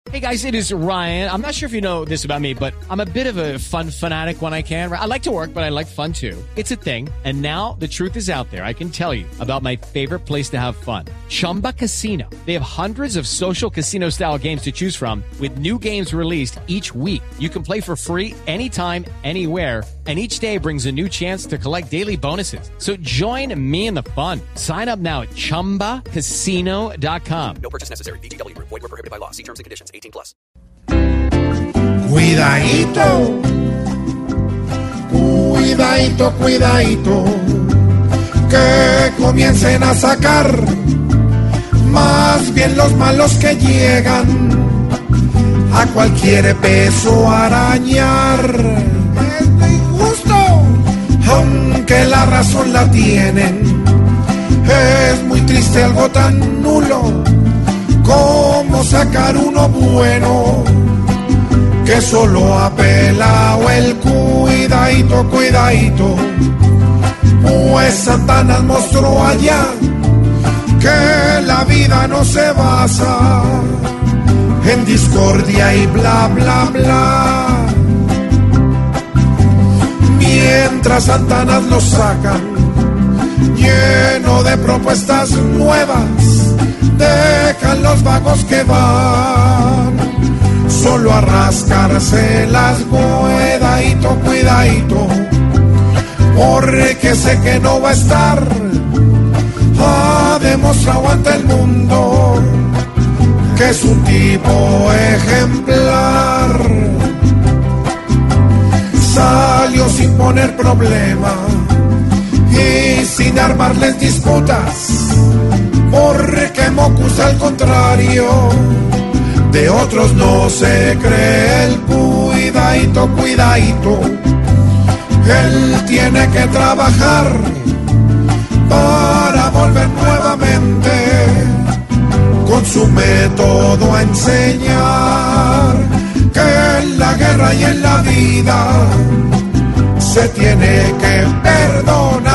Hey guys, it is Ryan. I'm not sure if you know this about me, but I'm a bit of a fun fanatic when I can. I like to work, but I like fun too. It's a thing. And now the truth is out there. I can tell you about my favorite place to have fun. Chumba Casino. They have hundreds of social casino style games to choose from with new games released each week. You can play for free anytime, anywhere. And each day brings a new chance to collect daily bonuses. So join me in the fun. Sign up now at ChumbaCasino.com. No purchase necessary. VGW Group. Void where prohibited by law. See terms and conditions. 18+. Cuidadito, cuidadito, cuidadito, que comiencen a sacar más bien los malos que llegan a cualquier peso a arañar. Es injusto, aunque la razón la tienen. Es muy triste algo tan nulo como sacar uno bueno que solo ha pelado el cuidadito, cuidadito. Pues Satanás mostró allá que la vida no se basa en discordia y bla, bla, bla. Mientras Satanás lo sacan lleno de propuestas nuevas, dejan los vagos que van solo a rascarse las cuidadito, cuidadito, porque sé que no va a estar. Ha demostrado ante el mundo que es un tipo ejemplar. Salió sin poner problema y sin armarles disputas, porque Mocus al contrario de otros no se cree el cuidadito, cuidadito. Él tiene que trabajar para volver nuevamente con su método a enseñar que en la guerra y en la vida se tiene que perdonar.